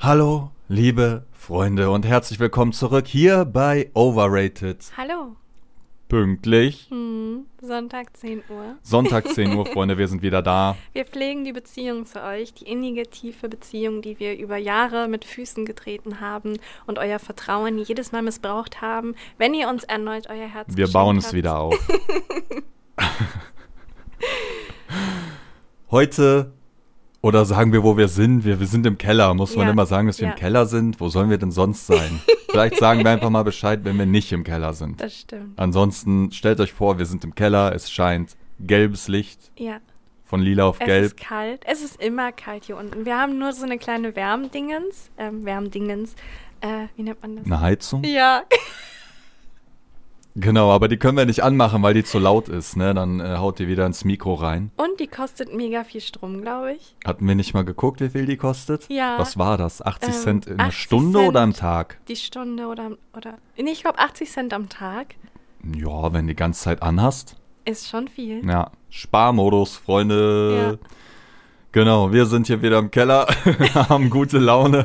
Hallo, liebe Freunde und herzlich willkommen zurück hier bei Overrated. Hallo. Pünktlich. Sonntag 10 Uhr. Sonntag 10 Uhr, Freunde, wir sind wieder da. Wir pflegen die Beziehung zu euch, die innige, tiefe Beziehung, die wir über Jahre mit Füßen getreten haben und euer Vertrauen jedes Mal missbraucht haben, wenn ihr uns erneut euer Herz Wir geschenkt bauen es habt. wieder auf. Heute, oder sagen wir, wo wir sind? Wir sind im Keller. Muss man Ja. immer sagen, dass wir Ja. im Keller sind? Wo sollen wir denn sonst sein? Vielleicht sagen wir einfach mal Bescheid, wenn wir nicht im Keller sind. Das stimmt. Ansonsten stellt euch vor, wir sind im Keller, es scheint gelbes Licht, Ja, von lila auf es gelb. ist kalt. Es ist immer kalt hier unten. Wir haben nur so eine kleine Wärmdingens. Wie nennt man das? Eine Heizung? Ja, Genau, aber die können wir nicht anmachen, weil die zu laut ist, ne? Dann haut die wieder ins Mikro rein. und die kostet mega viel Strom, glaube ich. Hatten wir nicht mal geguckt, wie viel die kostet? Ja. Was war das? 80 Cent in einer 80 Stunde Cent. oder am Tag? Die Stunde oder nee, ich glaube 80 Cent am Tag Ja, wenn du die ganze Zeit anhast. ist schon viel. Ja, Sparmodus, Freunde. Ja. Genau, wir sind hier wieder im Keller, haben gute Laune.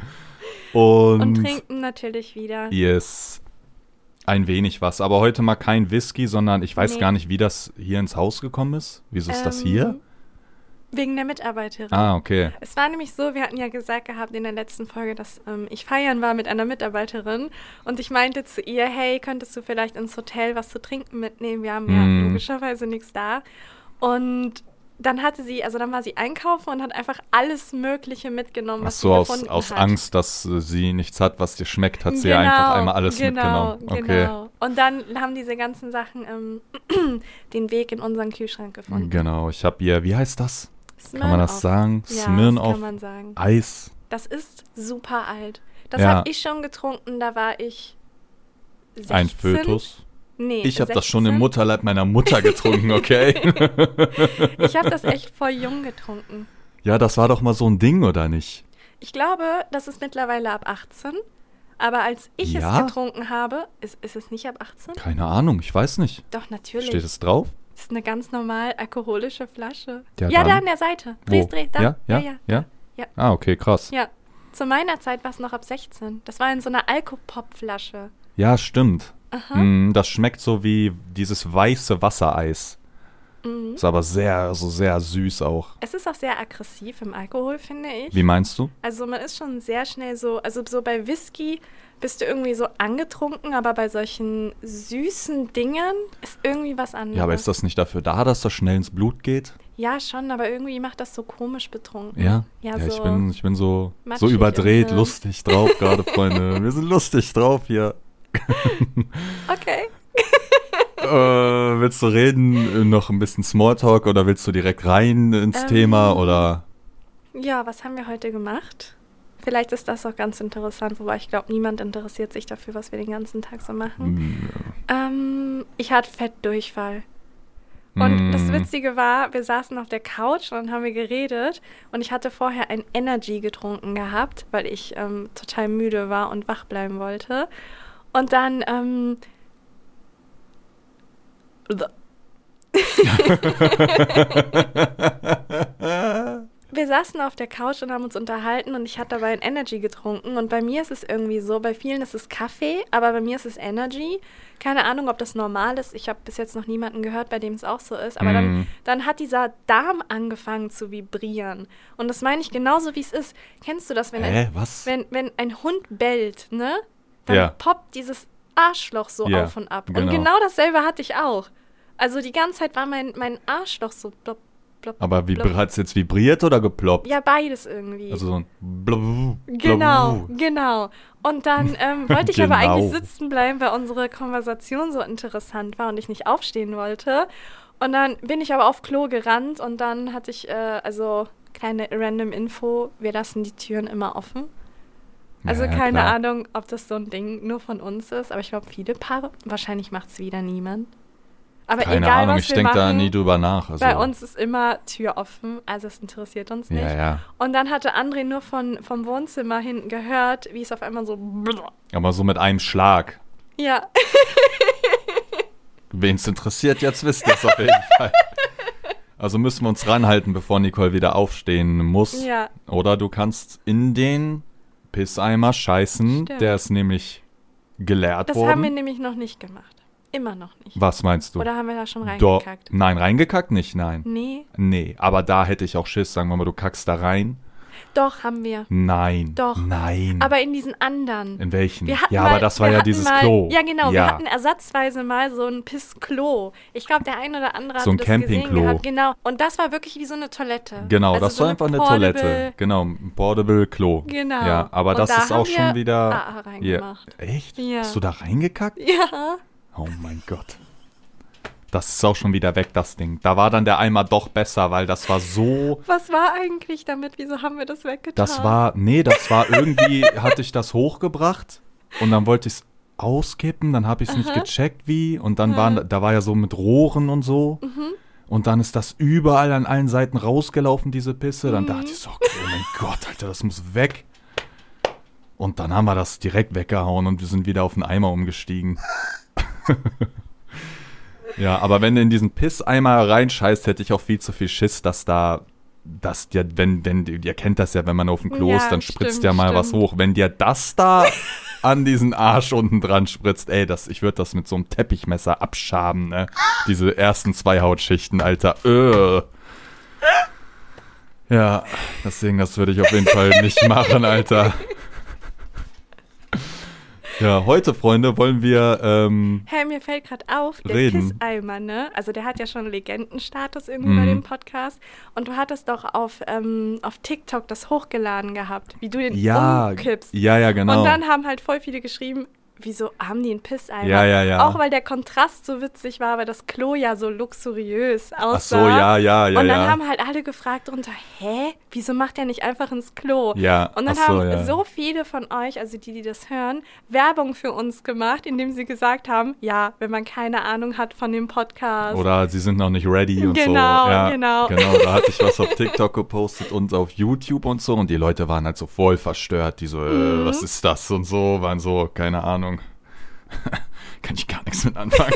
Und trinken natürlich wieder. yes, ein wenig was. Aber heute mal kein Whisky, sondern ich weiß Nee. gar nicht, wie das hier ins Haus gekommen ist. Wieso ist das hier? Wegen der Mitarbeiterin. Ah, okay. Es war nämlich so, wir hatten ja gesagt gehabt in der letzten Folge, dass ich feiern war mit einer Mitarbeiterin und ich meinte zu ihr, hey, könntest du vielleicht ins Hotel was zu trinken mitnehmen? Wir haben ja logischerweise nichts da. Und dann dann war sie einkaufen und hat einfach alles Mögliche mitgenommen, Ach was so, sie aus gefunden aus hat. Angst, dass sie nichts hat, was dir schmeckt, hat sie ja einfach einmal alles mitgenommen. Okay. Genau. Und dann haben diese ganzen Sachen den Weg in unseren Kühlschrank gefunden. Genau, ich habe hier, wie heißt das? Kann man das Smirnoff. sagen? Ja, Smirnoff das kann man sagen. Eis. Das ist super alt. Das Ja. habe ich schon getrunken, da war ich 16. Ein Fötus. Nee, Ich habe das schon 16. im Mutterleib meiner Mutter getrunken, okay? Ich habe das echt voll jung getrunken. Ja, das war doch mal so ein Ding, oder nicht? Ich glaube, das ist mittlerweile ab 18. Aber als ich Ja? es getrunken habe, ist es nicht ab 18? Keine Ahnung, ich weiß nicht. Doch, natürlich. Steht es drauf? Das ist eine ganz normal alkoholische Flasche. Ja, Ja, da dann. an der Seite. Wo? Dreh, da. Ja? Ja? Ja. Ja? Ah, okay, krass. Ja. Zu meiner Zeit war es noch ab 16. Das war in so einer Alkopop-Flasche. Ja, stimmt. Aha. Das schmeckt so wie dieses weiße Wassereis. Mhm. Ist aber sehr süß auch. Es ist auch sehr aggressiv im Alkohol, finde ich. Wie meinst du? Also man ist schon sehr schnell so bei Whisky bist du irgendwie so angetrunken, aber bei solchen süßen Dingen ist irgendwie was anderes. Ja, aber ist das nicht dafür da, dass das schnell ins Blut geht? Ja, schon, aber irgendwie macht das so komisch betrunken. Ja? Ja, Ja, so ich bin so matschig überdreht, im Hirn. lustig drauf gerade, Freunde. Wir sind lustig drauf hier. Okay. Willst du reden, noch ein bisschen Smalltalk oder willst du direkt rein ins Thema oder? Ja, was haben wir heute gemacht? Vielleicht ist das auch ganz interessant, wobei ich glaube, niemand interessiert sich dafür, was wir den ganzen Tag so machen. Ich hatte Fettdurchfall. Und das Witzige war, wir saßen auf der Couch und dann haben wir geredet und ich hatte vorher ein Energy getrunken gehabt, weil ich total müde war und wach bleiben wollte. Und dann wir saßen auf der Couch und haben uns unterhalten und ich hatte dabei ein Energy getrunken und bei mir ist es irgendwie so, bei vielen ist es Kaffee, aber bei mir ist es Energy. Keine Ahnung, ob das normal ist. Ich habe bis jetzt noch niemanden gehört, bei dem es auch so ist. Aber dann hat dieser Darm angefangen zu vibrieren. Und das meine ich genauso, wie es ist. Kennst du das, Was? wenn ein Hund bellt, ne? Dann Ja. poppt dieses Arschloch so Ja, auf und ab. Und genau. genau dasselbe hatte ich auch. Also die ganze Zeit war mein Arschloch so plopp, plopp, Aber plopp. hat es jetzt vibriert oder geploppt? Ja, beides irgendwie. Also so ein Blub, Genau. Und dann wollte ich aber Genau. eigentlich sitzen bleiben, weil unsere Konversation so interessant war und ich nicht aufstehen wollte. Und dann bin ich aber auf Klo gerannt und dann hatte ich, kleine random Info, wir lassen die Türen immer offen. Also Ja, keine klar. Ahnung, ob das so ein Ding nur von uns ist, aber ich glaube, viele Paare, wahrscheinlich macht es wieder niemand. Aber Keine egal, Ahnung, was ich wir denke da machen, nie drüber nach. Also, bei uns ist immer Tür offen, also es interessiert uns nicht. ja. Und dann hatte André nur vom Wohnzimmer hinten gehört, wie es auf einmal so Aber so mit einem Schlag. ja. Wen es interessiert, jetzt wisst ihr es auf jeden Fall. Also müssen wir uns ranhalten, bevor Nicole wieder aufstehen muss. Ja. Oder du kannst in den Pisseimer scheißen, Stimmt. der ist nämlich geleert Das worden. haben wir nämlich noch nicht gemacht. Immer noch nicht. Was meinst du? Oder haben wir da schon Doch. reingekackt? Nein, reingekackt nicht, nein. Nee. Nee, aber da hätte ich auch Schiss, sagen wir mal, du kackst da rein. Doch, haben wir. Nein. Doch. Nein. Aber in diesen anderen. In welchen? Wir hatten Ja, mal, aber das war wir ja hatten dieses mal, Klo. Ja, genau. Wir Ja. hatten ersatzweise mal so ein Pissklo. Ich glaube, der ein oder andere So ein hat das gesehen Campingklo. gehabt. Genau. Und das war wirklich wie so eine Toilette. Genau, Also das so war einfach eine portable- Toilette. Genau, ein Portable Klo. Genau. Ja, aber Und das da ist auch haben schon wir wieder. AA reingemacht. Ja. Echt? Ja. Hast du da reingekackt? Ja. Oh mein Gott. Das ist auch schon wieder weg, das Ding. Da war dann der Eimer doch besser, weil das war so. Was war eigentlich damit? Wieso haben wir das weggetan? Das war irgendwie, hatte ich das hochgebracht und dann wollte ich es auskippen, dann habe ich es nicht gecheckt wie und dann da war ja so mit Rohren und so und dann ist das überall an allen Seiten rausgelaufen, diese Pisse. Dann dachte ich so, okay, oh mein Gott, Alter, das muss weg. Und dann haben wir das direkt weggehauen und wir sind wieder auf den Eimer umgestiegen. Ja, aber wenn du in diesen Pisseimer reinscheißt, hätte ich auch viel zu viel Schiss, dass dir, ihr kennt das ja, wenn man auf dem Klo Ja, ist, dann spritzt stimmt, ja mal was stimmt. hoch. Wenn dir das da an diesen Arsch unten dran spritzt, ey, ich würde das mit so einem Teppichmesser abschaben, ne? Diese ersten 2 Hautschichten, Alter. Ja, deswegen, das würde ich auf jeden Fall nicht machen, Alter. Ja, heute, Freunde, wollen wir Hey, mir fällt gerade auf, der reden. Pisseimer, ne? Also der hat ja schon Legendenstatus irgendwie bei dem Podcast. Und du hattest doch auf TikTok das hochgeladen gehabt, wie du den umkippst. Ja, genau. Und dann haben halt voll viele geschrieben, wieso haben die einen Pisseimer? Ja. Auch weil der Kontrast so witzig war, weil das Klo ja so luxuriös aussah. Ach so, ja. Und dann haben halt alle gefragt drunter, wieso macht der nicht einfach ins Klo? Ja, Und dann ach so, haben ja. so viele von euch, also die das hören, Werbung für uns gemacht, indem sie gesagt haben, ja, wenn man keine Ahnung hat von dem Podcast. Oder sie sind noch nicht ready und so. Genau, Ja, genau. Da hatte ich was auf TikTok gepostet und auf YouTube und so. Und die Leute waren halt so voll verstört. Die so, was ist das und so. Waren so, keine Ahnung. Kann ich gar nichts mit anfangen.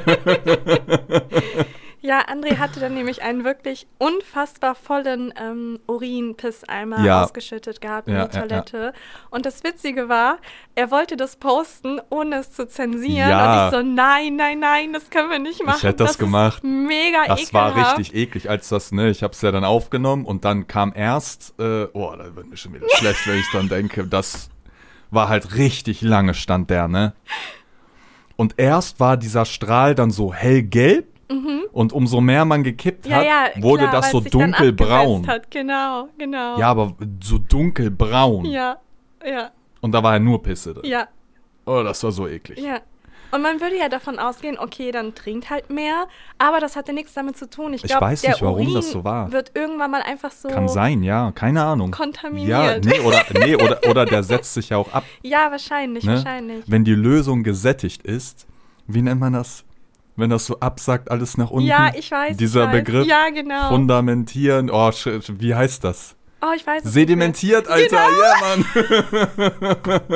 Ja, André hatte dann nämlich einen wirklich unfassbar vollen Urin-Pisseimer Ja. ausgeschüttet gehabt in Ja, die ja, Toilette. Und das Witzige war, er wollte das posten, ohne es zu zensieren. Ja. Und ich so, nein, das können wir nicht machen. Ich hätte das gemacht. Ist mega Das war ekelhaft. richtig eklig, als das, ne, ich hab's ja dann aufgenommen und dann kam erst, da wird mir schon wieder schlecht, wenn ich dann denke, das war halt richtig lange stand der, ne? Und erst war dieser Strahl dann so hellgelb und umso mehr man gekippt hat, wurde klar, das weil so es sich dann dunkelbraun. abgesetzt hat. Genau. Ja, aber so dunkelbraun. Ja. Und da war ja nur Pisse drin. Ja. Oh, das war so eklig. Ja. Und man würde ja davon ausgehen, okay, dann trinkt halt mehr, aber das hatte nichts damit zu tun. Ich Ich glaube, weiß der nicht, warum Urin das so war. wird irgendwann mal einfach so Kann sein, ja, keine Ahnung. kontaminiert. Ja, oder der setzt sich ja auch ab. Ja, wahrscheinlich. Ne? Wenn die Lösung gesättigt ist, wie nennt man das? Wenn das so absackt, alles nach unten. Ja, ich weiß. Dieser Begriff. Ja, genau. Fundamentieren. Oh, wie heißt das? Oh, ich weiß es Sedimentiert, nicht mehr. Alter. Genau.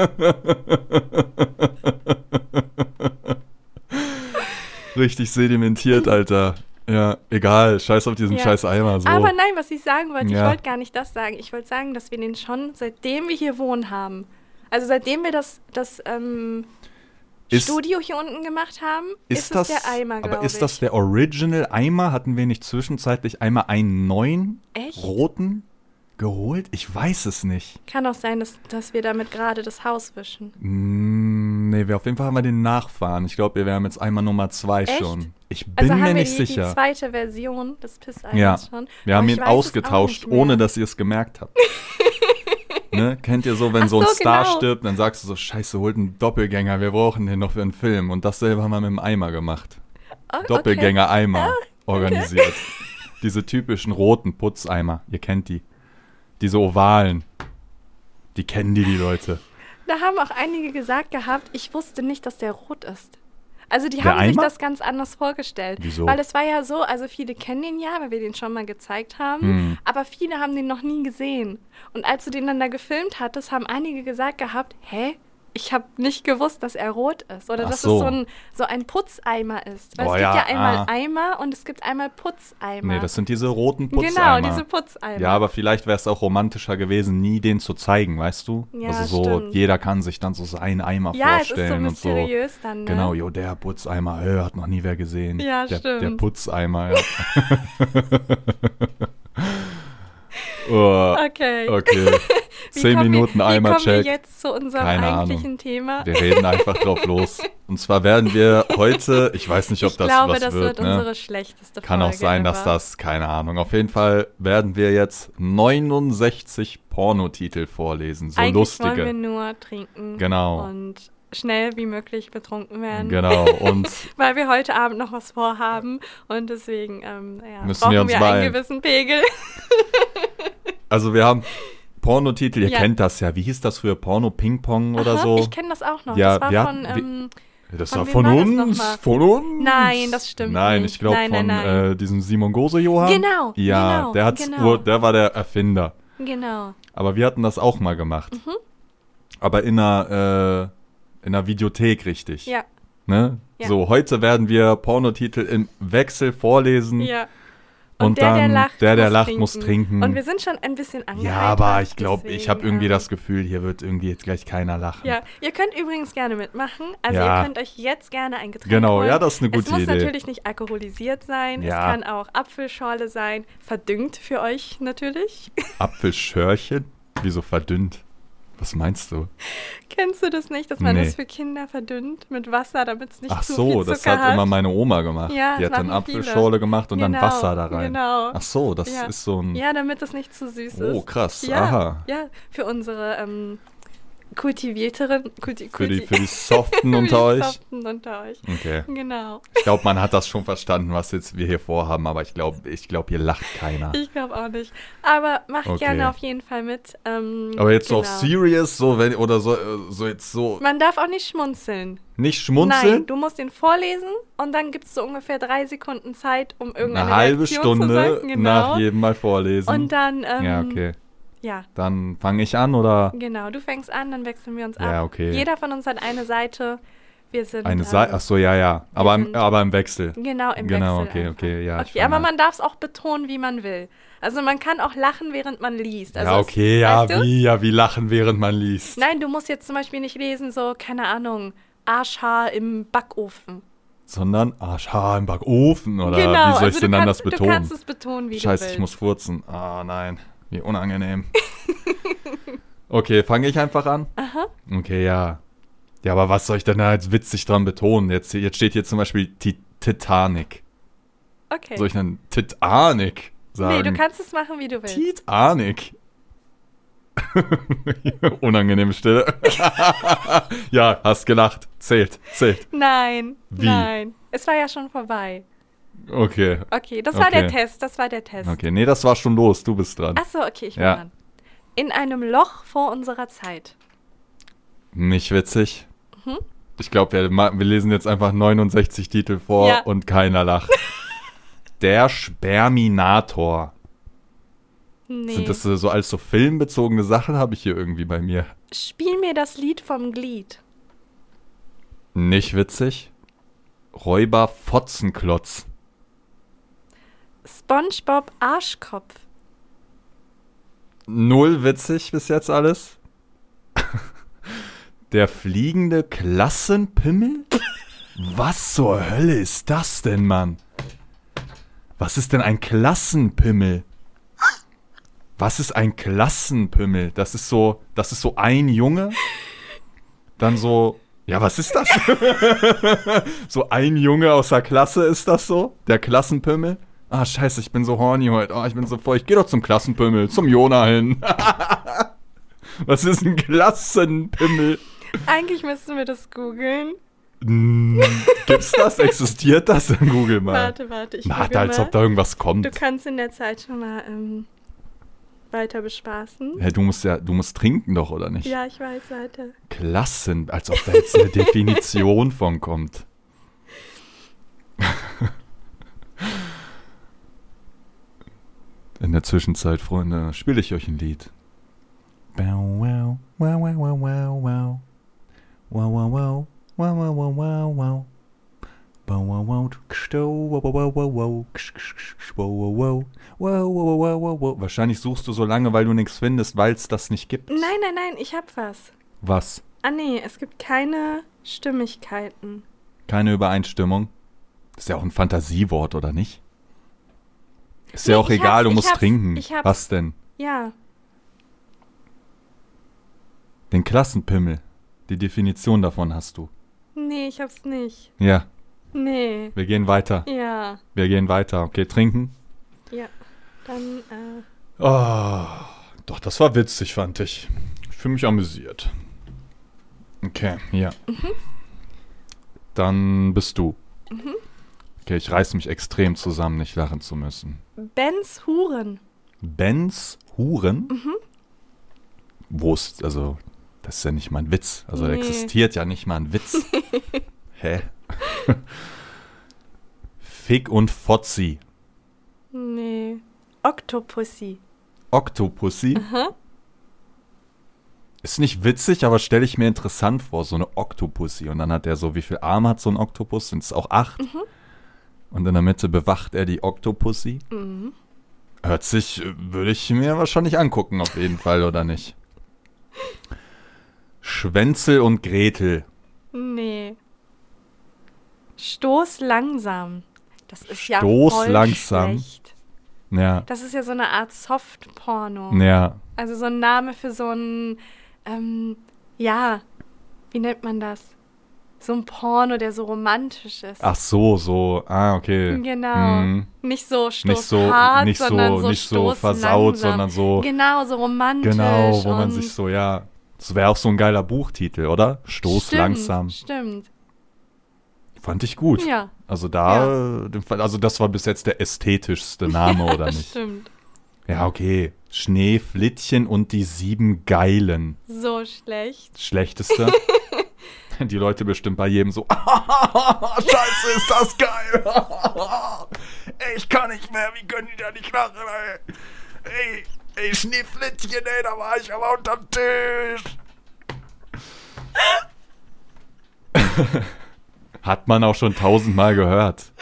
Ja, Mann. Richtig sedimentiert, Alter. Ja, egal. Scheiß auf diesen Ja. scheiß Eimer. So. Aber nein, was ich sagen wollte, Ja. ich wollte gar nicht das sagen. Ich wollte sagen, dass wir den schon, seitdem wir hier wohnen haben, also seitdem wir das Studio hier unten gemacht haben, ist das der Eimer, glaube ich. Aber ist das der Original Eimer? Hatten wir nicht zwischenzeitlich einmal einen neuen Echt? roten geholt? Ich weiß es nicht. Kann auch sein, dass wir damit gerade das Haus wischen. Nee, auf jeden Fall haben wir den Nachfahren. Ich glaube, wir haben jetzt Eimer Nummer 2 Echt? schon. Ich bin Also mir haben wir nicht sicher. die zweite Version des Pisseimers Ja, schon. wir Aber haben ich ihn weiß es auch ausgetauscht, nicht mehr. ohne dass ihr es gemerkt habt. Ne? Kennt ihr so, wenn Ach so ein so, Star genau. stirbt, dann sagst du so, scheiße, holt einen Doppelgänger, wir brauchen den noch für einen Film. Und dasselbe haben wir mit dem Eimer gemacht. Oh, okay. Doppelgänger-Eimer organisiert. Diese typischen roten Putzeimer, ihr kennt die. Diese ovalen. Die kennen die Leute. Da haben auch einige gesagt gehabt, ich wusste nicht, dass der rot ist. Also die Der haben sich Eimer? das ganz anders vorgestellt. Wieso? Weil es war ja so, also viele kennen den ja, weil wir den schon mal gezeigt haben, aber viele haben den noch nie gesehen. Und als du den dann da gefilmt hattest, haben einige gesagt gehabt, Ich habe nicht gewusst, dass er rot ist oder dass so. es so ein Putzeimer ist. Weil Oh, es gibt ja, ja einmal Eimer und es gibt einmal Putzeimer. Nee, das sind diese roten Putzeimer. Genau, diese Putzeimer. Ja, aber vielleicht wäre es auch romantischer gewesen, nie den zu zeigen, weißt du? Ja, also so, stimmt. jeder kann sich dann so seinen Eimer Ja, es ist so vorstellen und so. mysteriös dann, ne? Genau, jo, der Putzeimer, hat noch nie wer gesehen. Ja, der stimmt. Putzeimer, ja. Oh, Okay. okay. 10 Minuten Eimer-Check. Wie kommen wir jetzt zu unserem Keine eigentlichen Ahnung. Thema? Wir reden einfach drauf los. Und zwar werden wir heute, ich weiß nicht, ob Ich das glaube, was das wird, wird ne? unsere schlechteste Kann Folge auch sein, dass ever. das, keine Ahnung. Auf jeden Fall werden wir jetzt 69 Pornotitel vorlesen. So Eigentlich lustige. wollen wir nur trinken Genau. und schnell wie möglich betrunken werden. Genau. Und Weil wir heute Abend noch was vorhaben und deswegen Müssen brauchen wir uns wir beeilen. einen gewissen Pegel. also wir haben Pornotitel, ihr Ja. kennt das ja. Wie hieß das früher? Porno-Ping-Pong oder Aha, so? Ich kenne das auch noch. Ja, das wir war hatten- von, Das Von war wem von war das uns. nochmal? Von uns. Nein, das stimmt Nein, nicht. ich glaube Nein, von nein. diesem Simon Gose-Johann. Genau, Ja, genau, der hat's genau. der war der Erfinder. genau. Aber wir hatten das auch mal gemacht. Mhm. Aber in einer Videothek, richtig. Ja, Ne? Ja. So, heute werden wir Pornotitel im Wechsel vorlesen. ja. Und der, dann der der lacht, lacht, muss trinken. Und wir sind schon ein bisschen angeheitert. Ja, aber ich glaube, ich habe deswegen, irgendwie das Gefühl, hier wird irgendwie jetzt gleich keiner lachen. Ja, ihr könnt übrigens gerne mitmachen. Also Ja. ihr könnt euch jetzt gerne ein Getränk Genau, holen. ja, das ist eine gute Es muss Idee. natürlich nicht alkoholisiert sein. Ja. Es kann auch Apfelschorle sein. Verdünnt für euch natürlich. Apfelschörchen? Wieso verdünnt? Was meinst du? Kennst du das nicht, dass man Nee. das für Kinder verdünnt mit Wasser, damit es nicht Ach zu so, viel Zucker das hat immer meine Oma gemacht. Ja, Die das hat dann machen viele. Apfelschorle gemacht und dann Genau, Wasser da rein. genau. Ach so, das Ja. ist so ein... Ja, damit es nicht zu süß ist. Oh, krass. Ja, Aha. ja, für unsere kultivierteren, Für die Soften für unter die euch? Soften unter euch. Okay. Genau. Ich glaube, man hat das schon verstanden, was jetzt wir hier vorhaben, aber ich glaube, hier lacht keiner. Ich glaube auch nicht. Aber macht Okay. gerne auf jeden Fall mit. Aber jetzt so auf genau. serious, so wenn oder so jetzt so Man darf auch nicht schmunzeln. nicht schmunzeln. Nein, du musst ihn vorlesen und dann gibt es so ungefähr 3 Sekunden Zeit, um irgendeine Eine halbe Reaktion Stunde zu sagen. Genau. nach jedem Mal vorlesen. Und dann, ja, okay. ja, Dann fange ich an oder genau. Du fängst an, dann wechseln wir uns ab. Ja, okay. Jeder von uns hat eine Seite. Wir sind eine Seite? Ach so, ja. sind- Aber im Wechsel. Genau, im Genau, Wechsel. okay, einfach. okay, ja, ich Okay, aber fange man darf es auch betonen, wie man will. Also man kann auch lachen, während man liest. Also ja, okay, ja, weißt du? wie lachen, während man liest. Nein, du musst jetzt zum Beispiel nicht lesen, so, keine Ahnung, Arschhaar im Backofen. Sondern Arschhaar im Backofen oder Genau, wie soll ich also denn du dann kannst, das betonen? Du kannst es betonen, wie Scheiße, du willst. ich muss furzen. Ah, nein. Wie unangenehm. Okay, fange ich einfach an? Aha. Okay, ja. Ja, aber was soll ich denn da jetzt witzig dran betonen? Jetzt steht hier zum Beispiel Titanic. Okay. Soll ich dann Titanic sagen? Nee, du kannst es machen, wie du willst. Titanic. Unangenehme Stille. Ja, hast gelacht. Zählt. Nein, Wie? nein. Es war ja schon vorbei. Okay. Okay, das war Okay. der Test, Okay, nee, das war schon los. Du bist dran. Achso, okay, ich bin Ja. dran. In einem Loch vor unserer Zeit. Nicht witzig. Mhm. Ich glaube, wir lesen jetzt einfach 69 Titel vor Ja. und keiner lacht. Der Sperminator. Nee. Sind das so als so filmbezogene Sachen, habe ich hier irgendwie bei mir. Spiel mir das Lied vom Glied. Nicht witzig. Räuber Fotzenklotz. SpongeBob Arschkopf. Null witzig bis jetzt alles. Der fliegende Klassenpimmel? Was zur Hölle ist das denn, Mann? Was ist denn ein Klassenpimmel? Was ist ein Klassenpimmel? Das ist so ein Junge. Dann so, ja, was ist das? So ein Junge aus der Klasse ist das so? Der Klassenpimmel? Ah, scheiße, ich bin so horny heute. Oh, ich bin so voll. Ich geh doch zum Klassenpimmel, zum Jona hin. Was ist ein Klassenpimmel? Eigentlich müssten wir das googeln. Gibt's das? Existiert das? Google mal. Warte, ich Na, google als mal. ob da irgendwas kommt. Du kannst in der Zeit schon mal weiter bespaßen. Hey, du musst trinken doch, oder nicht? Ja, ich weiß, warte. Klassen, als ob da jetzt eine Definition von kommt. In der Zwischenzeit, Freunde, spiele ich euch ein Lied. Bow, wow, wow, wow, wow, wow, wow. Wow, wow, wow. Wow, wow, wow, wow, wow. Wow, wow, wow. Wow, wow, wow, wow. Wow, wow, wow. Wow, wow, wow, wow, wow. Wahrscheinlich suchst du so lange, weil du nichts findest, weil es das nicht gibt. Nein, ich hab was. Was? Ah nee, es gibt keine Stimmigkeiten. Keine Übereinstimmung? Ist ja auch ein Fantasiewort, oder nicht? Ist ja auch egal, du musst trinken. Was denn? Ja. Den Klassenpimmel. Die Definition davon hast du. Nee, ich hab's nicht. Ja. Nee. Wir gehen weiter. Ja. Wir gehen weiter. Okay, trinken? Ja. Dann, Oh, doch, das war witzig, fand ich. Ich fühle mich amüsiert. Okay, ja. Dann bist du. Okay, ich reiß mich extrem zusammen, nicht lachen zu müssen. Bens Huren. Bens Huren? Wo ist, also, das ist ja nicht mal ein Witz. Also, Nee. existiert ja nicht mal ein Witz. Hä? Fick und Fotzi. Nee. Octopussy. Octopussy? Ist nicht witzig, aber stelle ich mir interessant vor, so eine Octopussy. Und dann hat er so, wie viel Arme hat so ein Oktopus? Sind es auch 8? Und in der Mitte bewacht er die Octopussy. Hört sich, würde ich mir wahrscheinlich angucken, auf jeden Fall, oder nicht? Schwänzel und Gretel. Nee. Stoß langsam. Das ist ja Stoß voll langsam. schlecht. Ja, Das ist ja so eine Art Soft-Porno. ja. Also so ein Name für so ein, ja, wie nennt man das? So ein Porno, der so romantisch ist. Ach so, okay. Genau. Nicht so Nicht so, stoßhart, nicht sondern so, so nicht so Stoß versaut, langsam. sondern so, Genau, so romantisch. genau, wo man und sich so, ja, das wäre auch so ein geiler Buchtitel, oder? Stoß stimmt, langsam. Stimmt, Fand ich gut. ja. Also also das war bis jetzt der ästhetischste Name, oder nicht? Stimmt. Ja, okay. Schneeflittchen und die 7 Geilen. So schlecht. Schlechteste. Die Leute bestimmt bei jedem so, Scheiße, ist das geil. Ich kann nicht mehr, wie können die da nicht lachen, ey? Ey, Schneeflittchen, ey, da war ich aber unterm Tisch. Hat man auch schon 1000-mal gehört.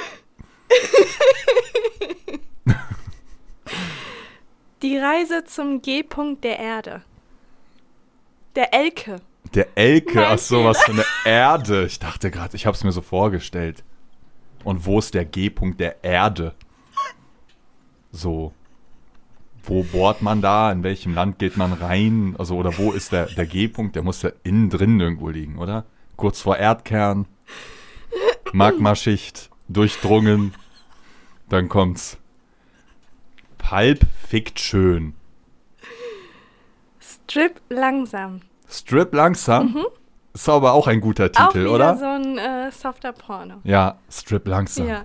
Die Reise zum G-Punkt der Erde. Der Elke. Der Elke, Mein ach so, was für eine Erde. Ich dachte gerade, ich hab's mir so vorgestellt. Und wo ist der G-Punkt der Erde? So. Wo bohrt man da? In welchem Land geht man rein? Also, oder wo ist der G-Punkt? Der muss ja innen drin irgendwo liegen, oder? Kurz vor Erdkern. Magmaschicht. Durchdrungen. Dann kommt's. Pulp Fiction. Strip langsam. Strip langsam? Ist aber auch ein guter Auch Titel, wieder oder? so ein softer Porno. Ja, Strip langsam. Ja.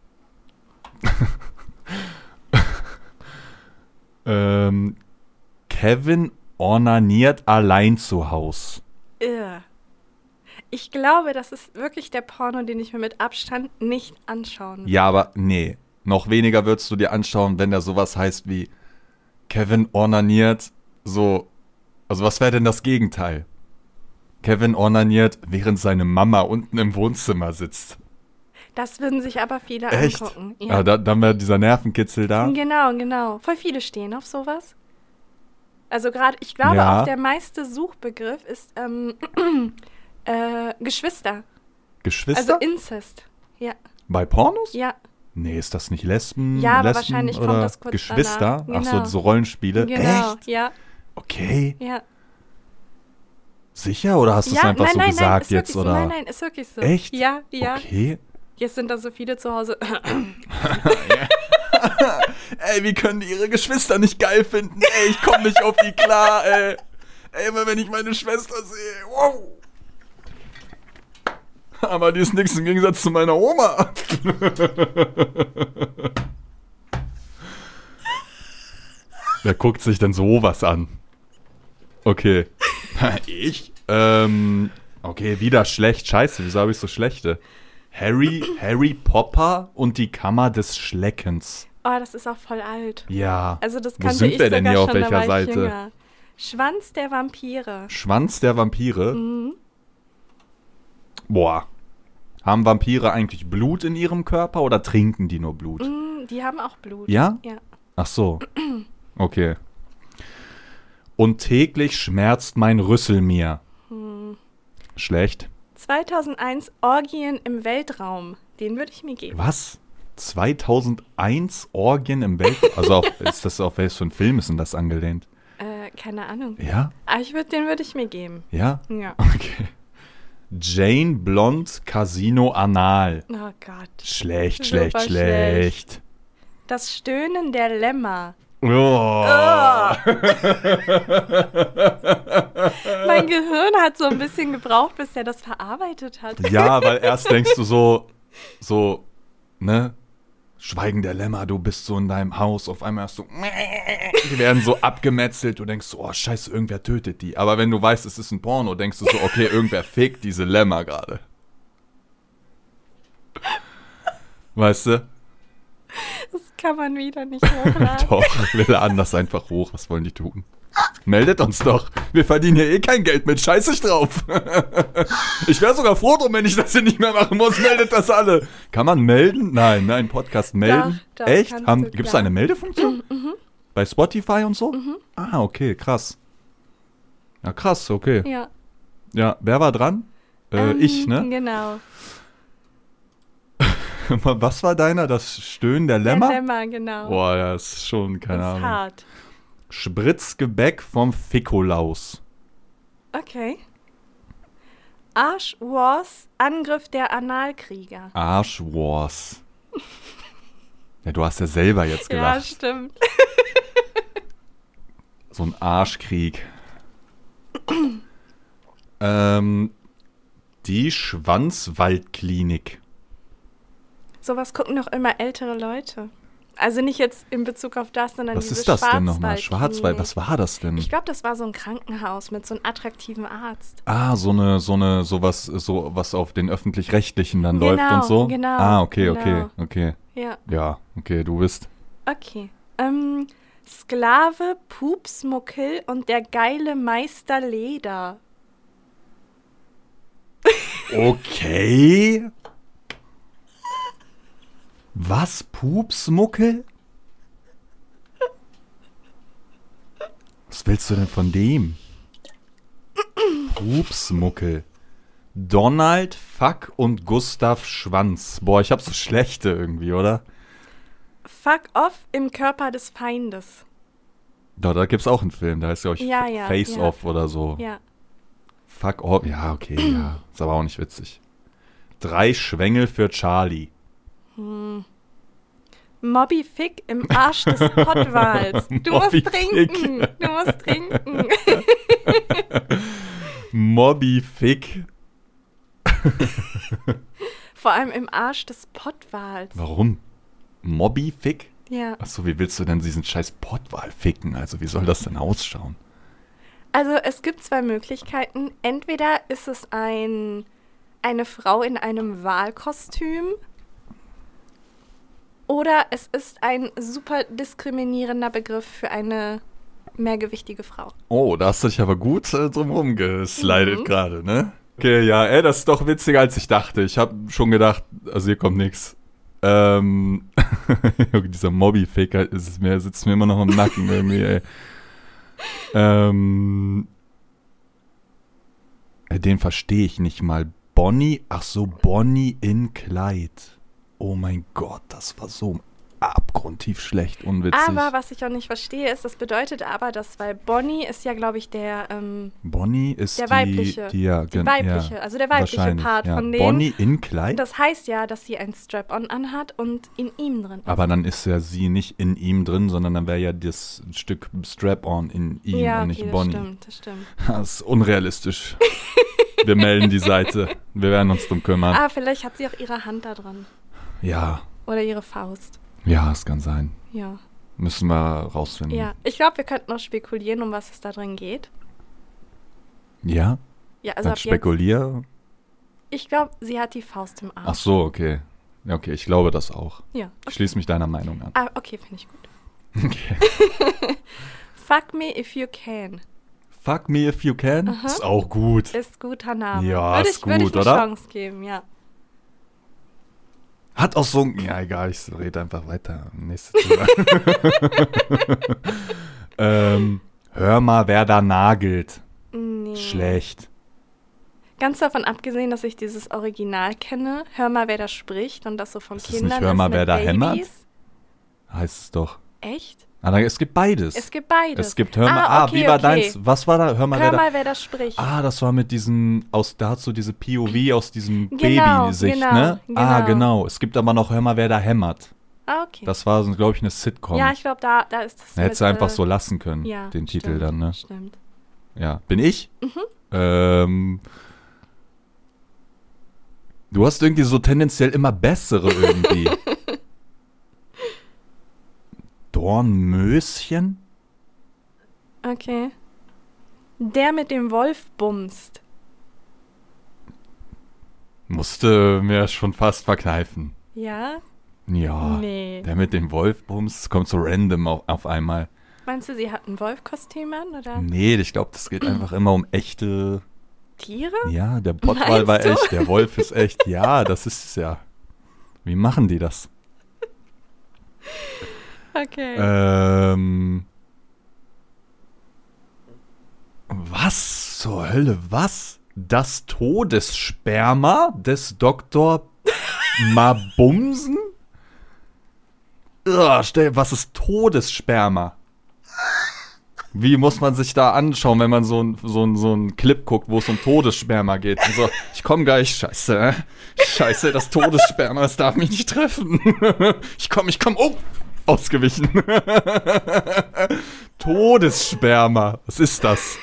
Kevin ornaniert allein zu Haus. Irr. Ich glaube, das ist wirklich der Porno, den ich mir mit Abstand nicht anschauen will. Ja, aber nee. Noch weniger würdest du dir anschauen, wenn da sowas heißt wie Kevin ornaniert so. Also was wäre denn das Gegenteil? Kevin ornaniert, während seine Mama unten im Wohnzimmer sitzt. Das würden sich aber viele Echt? angucken. Ja. Dann wäre dieser Nervenkitzel da. Genau. Voll viele stehen auf sowas. Also gerade, ich glaube Ja. auch der meiste Suchbegriff ist Geschwister. Geschwister? Also Inzest. Ja, Bei Pornos? ja. Nee, ist das nicht Lesben? Ja, aber Lesben wahrscheinlich kommt oder das kurz Geschwister? danach. Ach so, Genau. so Rollenspiele. Genau. Echt? Ja, Okay. ja. Sicher? Oder hast du es Ja, einfach nein, so nein, gesagt ist jetzt? wirklich Oder? so. Nein, ist wirklich so. Echt? Ja, ja. Okay. Jetzt sind da so viele zu Hause. Ey, wie können die ihre Geschwister nicht geil finden? Ey, ich komme nicht auf die klar, ey. Ey, immer wenn ich meine Schwester sehe. Wow. Aber die ist nichts im Gegensatz zu meiner Oma. Wer guckt sich denn sowas an? Okay. Ich? Okay, wieder schlecht. Scheiße, wieso habe ich so schlechte? Harry Potter und die Kammer des Schleckens. Oh, das ist auch voll alt. Ja. Also das Wo kannte sind ich wir denn sogar hier auf schon, welcher da war ich Seite? jünger. Schwanz der Vampire. Schwanz der Vampire? Mhm. Boah. Haben Vampire eigentlich Blut in ihrem Körper oder trinken die nur Blut? Die haben auch Blut. Ja? Ja. Ach so. Okay. Und täglich schmerzt mein Rüssel mir. Schlecht. 2001 Orgien im Weltraum. Den würde ich mir geben. Was? 2001 Orgien im Weltraum? Also ist das auf welches für ein Film ist denn das angelehnt? Keine Ahnung. Ja? Aber den würde ich mir geben. Ja? Ja. Okay. Jane Blond Casino Anal. Oh Gott. Schlecht, Super schlecht, schlecht. Das Stöhnen der Lämmer. Oh. Mein Gehirn hat so ein bisschen gebraucht, bis er das verarbeitet hat. Ja, weil erst denkst du so, ne? Schweigen der Lämmer, du bist so in deinem Haus, auf einmal hast du, die werden so abgemetzelt, du denkst so, oh scheiße, irgendwer tötet die. Aber wenn du weißt, es ist ein Porno, denkst du so, okay, irgendwer fickt diese Lämmer gerade. Weißt du? Das kann man wieder nicht hochladen. Doch, wir laden das einfach hoch, was wollen die tun? Meldet uns doch, wir verdienen hier eh kein Geld mit, scheiß ich drauf. Ich wäre sogar froh drum, wenn ich das hier nicht mehr machen muss, meldet das alle. Kann man melden? Nein, Podcast melden. Doch, echt? Gibt es klar. eine Meldefunktion? Bei Spotify und so? Ah, okay, krass. Ja, krass, okay. Ja. Ja, wer war dran? Ich, ne? Genau. Was war deiner? Das Stöhnen der Lämmer? Der Lämmer, genau. Boah, ja, ist schon, keine das ist Ahnung. hart. Spritzgebäck vom Fikolaus. Okay. Arsch Wars, Angriff der Analkrieger. Arsch Wars. Ja, du hast ja selber jetzt Ja, gelacht. stimmt. So ein Arschkrieg. Die Schwanzwaldklinik. Sowas gucken doch immer ältere Leute. Also nicht jetzt in Bezug auf das, sondern Was diese ist das denn nochmal? Schwarzwaldklinik. Schwarzwald, was war das denn? Ich glaube, das war so ein Krankenhaus mit so einem attraktiven Arzt. Ah, was auf den Öffentlich-Rechtlichen dann läuft und so? Genau. Ah, okay. Ja. Ja, okay, du bist. Okay. Sklave, Pupsmuckel und der geile Meister Leder. Okay. Was? Pupsmuckel? Was willst du denn von dem? Pupsmuckel. Donald, Fuck und Gustav Schwanz. Boah, ich hab so schlechte irgendwie, oder? Fuck off im Körper des Feindes. Da gibt's auch einen Film, da heißt glaube ich Ja, Face ja. Off oder so. Ja. Fuck off, ja, okay, ja. Ist aber auch nicht witzig. 3 Schwengel für Charlie. Moby Fick im Arsch des Pottwals. Du musst Moby trinken. Fick. Du musst trinken. Moby Fick. Vor allem im Arsch des Pottwals. Warum? Moby Fick? Ja. Achso, wie willst du denn diesen scheiß Pottwal ficken? Also wie soll das denn ausschauen? Also es gibt 2 Möglichkeiten. Entweder ist es eine Frau in einem Walkostüm oder es ist ein super diskriminierender Begriff für eine mehrgewichtige Frau. Oh, da hast du dich aber gut drumherum geslidet gerade, ne? Okay, ja, das ist doch witziger, als ich dachte. Ich habe schon gedacht, also hier kommt nix. Dieser Moby-Faker sitzt mir immer noch im Nacken irgendwie, ey. Den verstehe ich nicht mal. Bonnie, ach so, Bonnie in Clyde. Oh mein Gott, das war so abgrundtief schlecht, unwitzig. Aber was ich auch nicht verstehe, ist, das bedeutet aber, dass, weil Bonnie ist ja, glaube ich, Bonnie ist der weibliche, also der weibliche Part von dem. Bonnie in Clyde? Das heißt ja, dass sie ein Strap-on anhat und in ihm drin ist. Aber dann ist ja sie nicht in ihm drin, sondern dann wäre ja das Stück Strap-on in ihm ja, und nicht okay, Bonnie. Das stimmt. Das ist unrealistisch. Wir melden die Seite. Wir werden uns drum kümmern. Ah, vielleicht hat sie auch ihre Hand da dran. Ja. Oder ihre Faust. Ja, es kann sein. Ja. Müssen wir rausfinden. Ja, ich glaube, wir könnten noch spekulieren, um was es da drin geht. Ja? Ja, also Dann spekulier. Ich glaube, sie hat die Faust im Arsch. Ach so, okay. Ja, okay, ich glaube das auch. Ja. Ich schließe mich deiner Meinung an. Ah, okay, finde ich gut. Okay. Fuck me if you can. Fuck Me If You Can. Ist auch gut. Ist guter Name. Ja, ist gut, würde ich oder? eine Chance geben, ja. Hat auch so ein... Ja, egal, ich rede einfach weiter. Nächstes Thema. Hör mal, wer da nagelt. Nee. Schlecht. Ganz davon abgesehen, dass ich dieses Original kenne. Hör mal, wer da spricht und das so von Ist das Kindern nicht Hör mal, ist wer mit da Babys. hämmert? Heißt es doch. Echt? Es gibt beides. Es gibt beides. Es gibt Hör mal, okay, wie war okay. deins? Was war da? Hör mal, Hör wer mal, wer da spricht. da... das war mit diesem, da hast du diese POV aus diesem Genau, Babysicht, genau, ne? genau. Genau. Es gibt aber noch Hör mal, wer da hämmert. Okay. Das war, glaube ich, eine Sitcom. Ja, ich glaube, da ist das Hättest du einfach so lassen können, ja, den Titel stimmt, dann, ne? Stimmt. Ja. Bin ich? Du hast irgendwie so tendenziell immer bessere irgendwie. Dornmöschen? Okay. Der mit dem Wolf bumst. Musste mir schon fast verkneifen. Ja? Ja. Nee. Der mit dem Wolfbums kommt so random auf einmal. Meinst du, sie hat ein Wolfkostüm an, oder? Nee, ich glaube, das geht einfach immer um echte... Tiere? Ja, der Pottwal war Meinst du? echt, der Wolf ist echt. Ja, das ist es ja. Wie machen die das? Okay. Was zur Hölle? Was? Das Todessperma des Dr. Mabumsen? Was ist Todessperma? Wie muss man sich da anschauen, wenn man so einen Clip guckt, wo es um Todessperma geht? Und so, ich komm gleich, scheiße. Scheiße, das Todessperma, es darf mich nicht treffen. Ich komm, oh, ausgewichen. Todessperma, was ist das?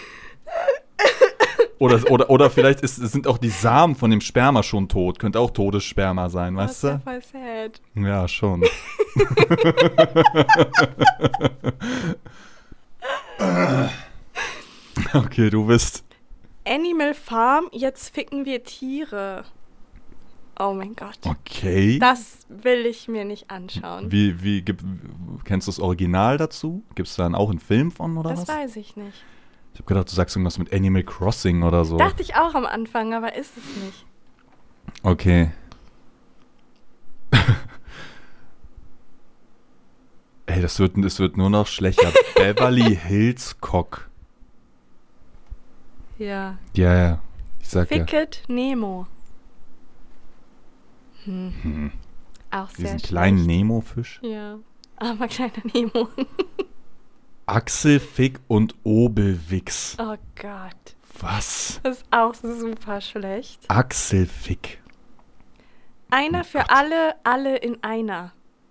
Oder vielleicht sind auch die Samen von dem Sperma schon tot. Könnte auch Todessperma sein, weißt Das ist ja du? voll sad. Ja, schon. Okay, du bist. Animal Farm, jetzt ficken wir Tiere. Oh mein Gott. Okay. Das will ich mir nicht anschauen. Kennst du das Original dazu? Gibt es dann auch einen Film von oder Das was? weiß ich nicht. Ich habe gedacht, du sagst irgendwas mit Animal Crossing oder so. Dachte ich auch am Anfang, aber ist es nicht. Okay. Ey, das wird nur noch schlechter. Beverly Hills Cock. Ja. Ja. Ich sag ja. Ficket Nemo. Auch sehr Diesen schlecht. kleinen Nemo-Fisch. Ja, aber kleiner Nemo. Axelfick und Obelwix. Oh Gott. Was? Das ist auch super schlecht. Axelfick. Einer Oh für Gott. alle in einer.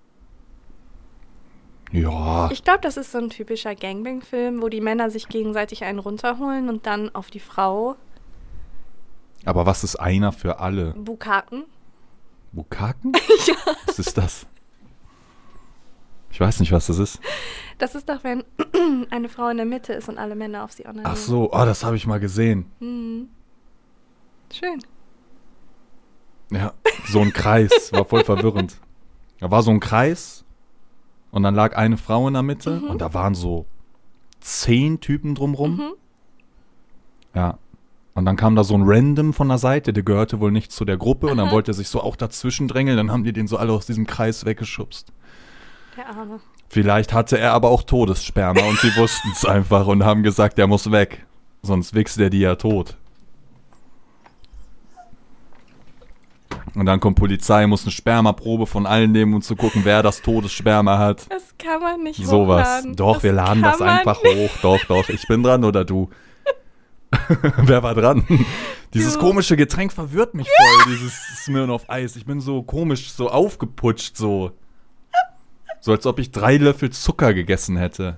Ja. Ich glaube, das ist so ein typischer Gangbang-Film, wo die Männer sich gegenseitig einen runterholen und dann auf die Frau Aber was ist einer für alle? bukaken. Bukaken? Ja. Was ist das? Ich weiß nicht, was das ist. Das ist doch, wenn eine Frau in der Mitte ist und alle Männer auf sie onanieren. Ach so, das habe ich mal gesehen. Mhm. Schön. Ja, so ein Kreis. War voll verwirrend. Da war so ein Kreis und dann lag eine Frau in der Mitte und da waren so 10 Typen drumrum. Ja. Und dann kam da so ein Random von der Seite, der gehörte wohl nicht zu der Gruppe und dann wollte er sich so auch dazwischen drängeln, dann haben die den so alle aus diesem Kreis weggeschubst. Der Arme. Vielleicht hatte er aber auch Todessperma und sie wussten es einfach und haben gesagt, er muss weg. Sonst wichst er die ja tot. Und dann kommt Polizei, muss eine Spermaprobe von allen nehmen, um zu gucken, wer das Todessperma hat. Das kann man nicht Sowas. hochladen. Doch, wir laden kann das man einfach hoch. Doch. Ich bin dran oder du? Wer war dran? Dieses Du. komische Getränk verwirrt mich voll, dieses Smirnoff Eis. Ich bin so komisch, so aufgeputscht, so. So als ob ich 3 Löffel Zucker gegessen hätte.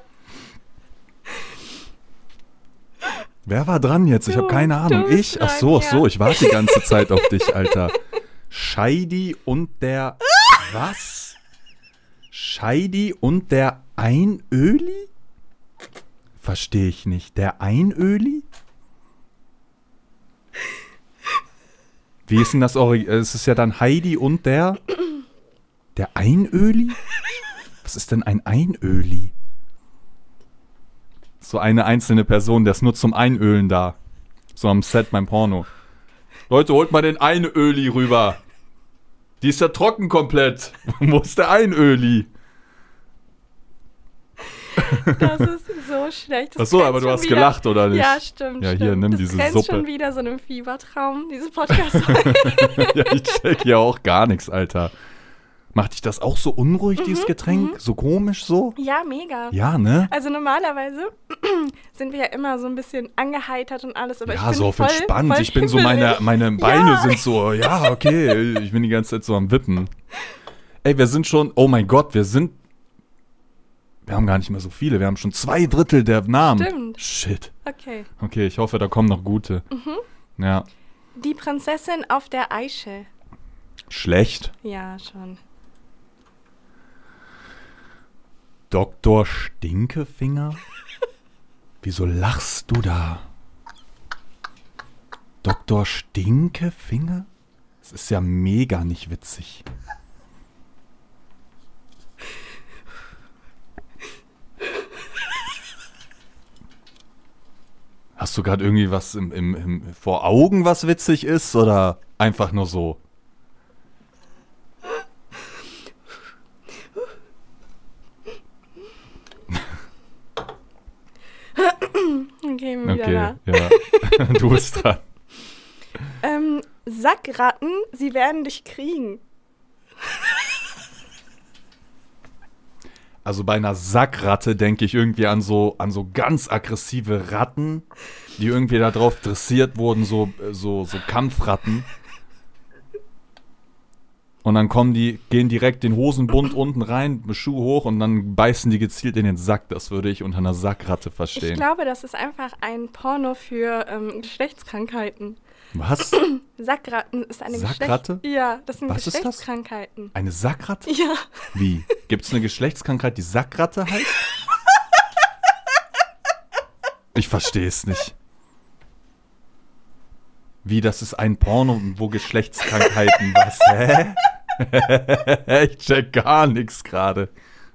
Wer war dran jetzt? Ich habe keine Ahnung. du bist Ich? Ach so, dran, ja. ich warte die ganze Zeit auf dich, Alter. Scheidi und der... Was? Scheidi und der Einöli? Verstehe ich nicht. Der Einöli? Wie ist denn das Original? Es ist ja dann Heidi und der... Der Einöli? Was ist denn ein Einöli? So eine einzelne Person, der ist nur zum Einölen da. So am Set beim Porno. Leute, holt mal den Einöli rüber. Die ist ja trocken komplett. Wo ist der Einöli? Das ist so schlecht. Das Achso, aber du hast gelacht, oder nicht? Ja, stimmt. Ja, hier, nimm das diese grenzt Suppe. Schon wieder so einem Fiebertraum, diese podcast Ja, ich check ja auch gar nichts, Alter. Macht dich das auch so unruhig, dieses Getränk? So komisch so? Ja, mega. Ja, ne? Also normalerweise sind wir ja immer so ein bisschen angeheitert und alles, aber ich Ja, bin so auf voll, entspannt. voll Ich bin so, himmelig. meine Beine Ja. sind so, ja, okay. Ich bin die ganze Zeit so am Wippen. Ey, wir sind schon, oh mein Gott, wir haben gar nicht mehr so viele. Wir haben schon 2/3 der Namen. Stimmt. Shit. Okay. Okay, ich hoffe, da kommen noch gute. Ja. Die Prinzessin auf der Eiche. Schlecht. Ja, schon. Dr. Stinkefinger? Wieso lachst du da? Dr. Stinkefinger? Das ist ja mega nicht witzig. Hast du gerade irgendwie was vor Augen, was witzig ist? Oder einfach nur so? Okay, wieder Okay, ja. Du bist dran. da. Sackratten, sie werden dich kriegen. Also bei einer Sackratte denke ich irgendwie an so ganz aggressive Ratten, die irgendwie darauf dressiert wurden, so Kampfratten. Und dann gehen direkt den Hosenbund unten rein, Schuh hoch und dann beißen die gezielt in den Sack. Das würde ich unter einer Sackratte verstehen. Ich glaube, das ist einfach ein Porno für Geschlechtskrankheiten. Was? Sackratten ist eine Sackratte? Ja, das sind Was ist das? Geschlechtskrankheiten. Eine Sackratte? Ja. Wie? Gibt es eine Geschlechtskrankheit, die Sackratte heißt? Ich verstehe es nicht. Wie, das ist ein Porno, wo Geschlechtskrankheiten was? Hä? Ich check gar nichts gerade.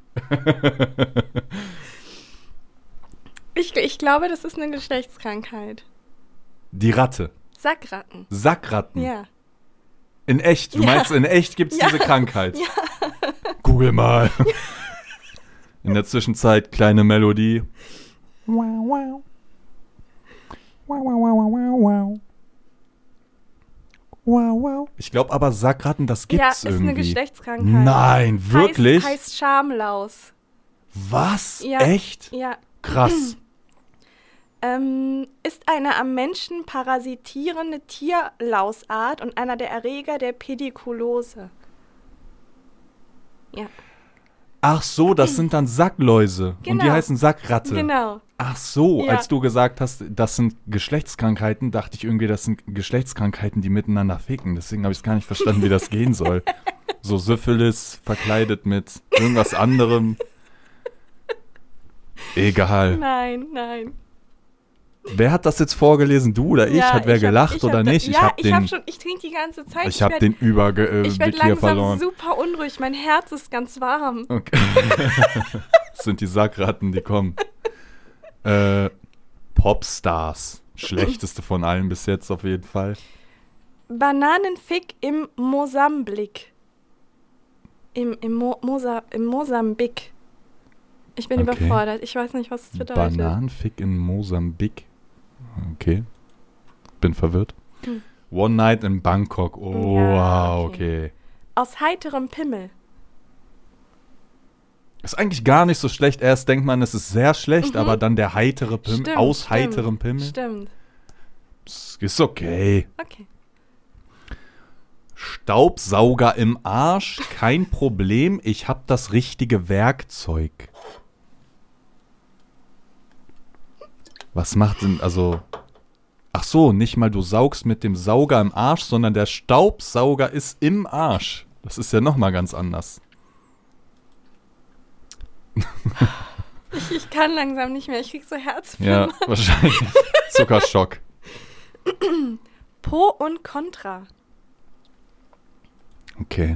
Ich glaube, das ist eine Geschlechtskrankheit. Die Ratte. Sackratten. Sackratten. Ja. In echt? Du Ja. meinst, in echt gibt es Ja. diese Krankheit? Ja. Google mal. In der Zwischenzeit kleine Melodie. Wow, wow. Wow, wow, wow, wow, wow. Wow, wow. Ich glaube aber Sackratten, das Ja, gibt's ist irgendwie. eine Geschlechtskrankheit. Nein, wirklich? Heißt Schamlaus. Was? Ja. Echt? Ja. Krass. Ist eine am Menschen parasitierende Tierlausart und einer der Erreger der Pedikulose. Ja, Ach so, das sind dann Sackläuse. Und die Genau. heißen Sackratte. genau. Ach so, Ja. als du gesagt hast, das sind Geschlechtskrankheiten, dachte ich irgendwie, das sind Geschlechtskrankheiten, die miteinander ficken. Deswegen habe ich es gar nicht verstanden, wie das gehen soll. So Syphilis verkleidet mit irgendwas anderem. Egal. Nein. Wer hat das jetzt vorgelesen? Du oder ich? Ja, hat wer ich hab- gelacht ich oder hab nicht? Ja, ich trinke die ganze Zeit. Ich habe den Ich Überblick werde hier langsam verloren. super unruhig. Mein Herz ist ganz warm. Okay. Das sind die Sackratten, die kommen. Popstars. Schlechteste von allen bis jetzt auf jeden Fall. Bananenfick im Mosambik. Im Mosambik. Ich bin Okay. überfordert. Ich weiß nicht, was es bedeutet. Bananenfick in Mosambik. Okay. Bin verwirrt. Hm. One Night in Bangkok. Oh, Ja, wow, okay. okay. Aus heiterem Pimmel. Ist eigentlich gar nicht so schlecht. Erst denkt man, es ist sehr schlecht, Mhm. aber dann der heitere Pimmel. Stimmt, Aus stimmt, heiterem Pimmel. Stimmt. Ist okay. Okay. Staubsauger im Arsch, kein Problem. Ich hab das richtige Werkzeug. Was macht denn, also... Ach so, nicht mal du saugst mit dem Sauger im Arsch, sondern der Staubsauger ist im Arsch. Das ist ja nochmal ganz anders. Ich kann langsam nicht mehr. Ich krieg so Herzflimmer. Ja, wahrscheinlich. Zuckerschock. Pro und Contra. Okay.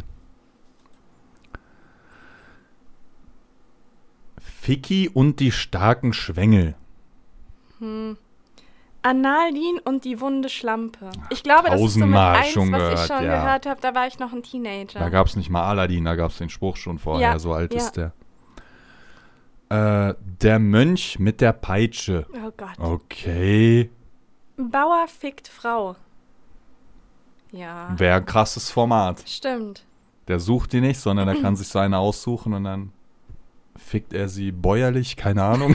Ficky und die starken Schwengel. Annaldin und die wunde Schlampe. Ich glaube, das ist so mit Tausendmal eins, schon was gehört, ich schon ja. gehört habe. Da war ich noch ein Teenager. Da gab es nicht mal Aladdin, da gab es den Spruch schon vorher, Ja, so alt ja. ist der. Der Mönch mit der Peitsche. Oh Gott. Okay. Bauer fickt Frau. Ja. Wäre ein krasses Format. Stimmt. Der sucht die nicht, sondern er kann sich so eine aussuchen und dann fickt er sie bäuerlich, keine Ahnung.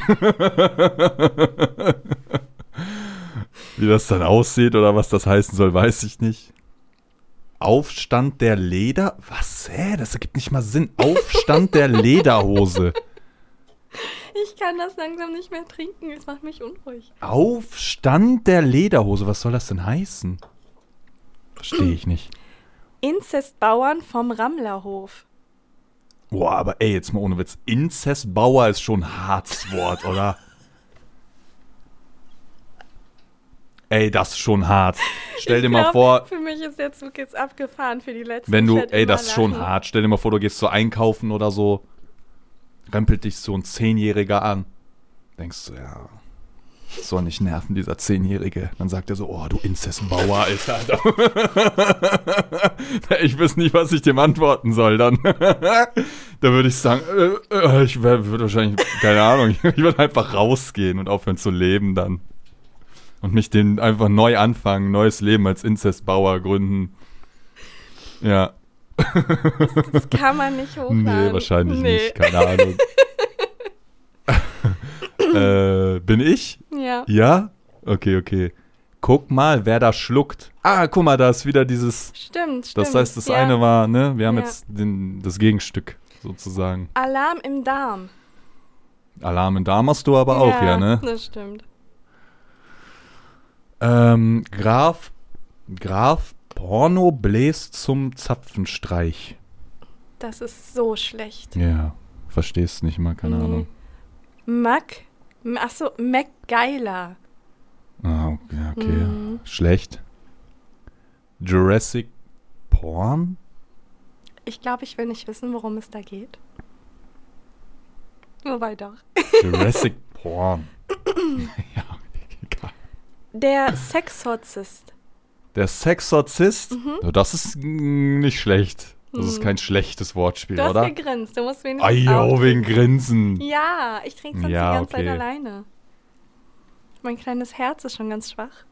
Wie das dann aussieht oder was das heißen soll, weiß ich nicht. Aufstand der Leder? Was? Das ergibt nicht mal Sinn. Aufstand der Lederhose. Ich kann das langsam nicht mehr trinken. Es macht mich unruhig. Aufstand der Lederhose? Was soll das denn heißen? Verstehe ich nicht. Inzestbauern vom Rammlerhof. Boah, aber ey, jetzt mal ohne Witz. Inzestbauer ist schon ein hartes Wort, oder? Ey, das ist schon hart. Stell dir mal vor, Für mich ist der Zug jetzt abgefahren für die letzten. wenn du, Ich werd ey, immer das ist schon lachen. hart. Stell dir mal vor, du gehst so einkaufen oder so, rempelt dich so ein 10-Jähriger an. Denkst du, ja, soll nicht nerven, dieser 10-Jährige. Dann sagt er so, oh, du Inzestbauer, Alter. Ich weiß nicht, was ich dem antworten soll dann. Da würde ich sagen, ich würde wahrscheinlich, keine Ahnung, ich würde einfach rausgehen und aufhören zu leben dann. Und mich den einfach neu anfangen, neues Leben als Inzestbauer gründen. Ja. Das kann man nicht hochladen. Nee, wahrscheinlich nicht, keine Ahnung. Bin ich? Ja. Ja? Okay. Guck mal, wer da schluckt. Ah, guck mal, da ist wieder dieses. Stimmt. Das heißt, das ja. eine war, ne? Wir haben Ja. jetzt das Gegenstück sozusagen. Alarm im Darm. Alarm in Darm hast du aber auch, ja, ne? Das stimmt. Graf Porno bläst zum Zapfenstreich. Das ist so schlecht. Ja, verstehst nicht mal, keine Ahnung. MacGyler. Ah, okay. Schlecht. Jurassic Porn? Ich glaube, ich will nicht wissen, worum es da geht. Wobei doch. Jurassic Porn. Ja, egal. Der Sexorzist. Der Sexorzist? Das ist nicht schlecht. Das ist kein schlechtes Wortspiel, Du hast oder? gegrinst. Du musst wenigstens Ajo, auch- wegen Grinsen. Ja, ich trinke sonst Ja, die ganze Zeit okay. alleine. Mein kleines Herz ist schon ganz schwach.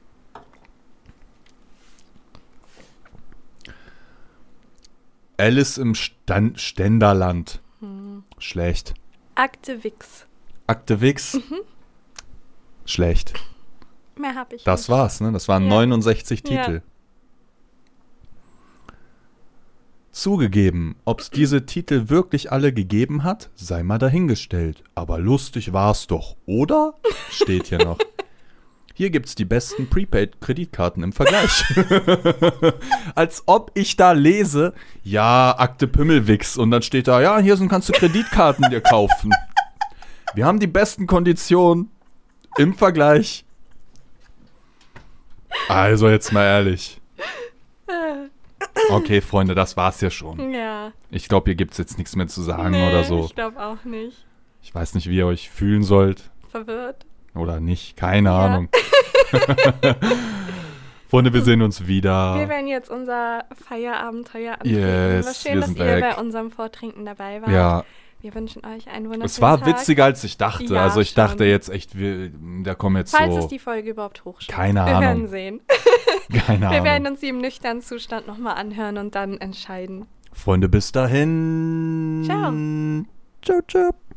Alice im Ständerland. Schlecht. Akte Wix. Akte Wix. Schlecht. Mehr habe ich Das nicht. war's, ne? Das waren Ja. 69 Ja. Titel. Zugegeben, ob's diese Titel wirklich alle gegeben hat, sei mal dahingestellt. Aber lustig war's doch, oder? Steht hier noch. Hier gibt's die besten Prepaid-Kreditkarten im Vergleich. Als ob ich da lese, ja, Akte Pümmelwix. Und dann steht da, ja, kannst du Kreditkarten dir kaufen. Wir haben die besten Konditionen im Vergleich. Also jetzt mal ehrlich. Okay, Freunde, das war's ja schon. Ja. Ich glaube, hier gibt's jetzt nichts mehr zu sagen Nee, oder so. Ich glaube auch nicht. Ich weiß nicht, wie ihr euch fühlen sollt Verwirrt. oder nicht. Keine Ja. Ahnung. Freunde, wir sehen uns Wir wieder. werden jetzt unser Feierabenteuer antreten. Yes, War schön, wir dass sind ihr weg. bei unserem Vortrinken dabei wart. Ja, Wir wünschen euch einen wunderschönen es war Tag. witziger, als ich dachte. Ja, Also ich schon. dachte jetzt echt, da kommen jetzt Falls so. es die Folge überhaupt hochschlägt. Keine Wir Ahnung. werden sehen. Keine Wir werden Ahnung. uns sie im nüchternen Zustand nochmal anhören und dann entscheiden. Freunde, bis dahin. Ciao. Ciao, ciao.